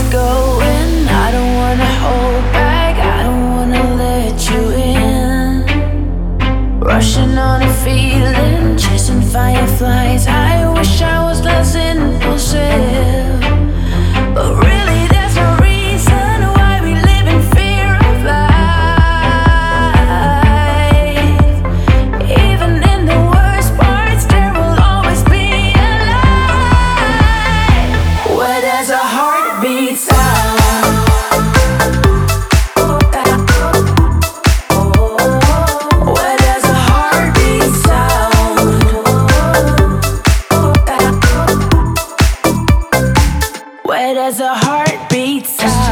going. I don't wanna hold back, I don't wanna let you in. Rushing on a feeling, chasing fireflies. I wish I was less impulsive, but really there's no reason why we live in fear of life. Even in the worst parts, there will always be a light where there's a heartbeat sound. Where there's a heartbeat sound. Where there's a heartbeat sound.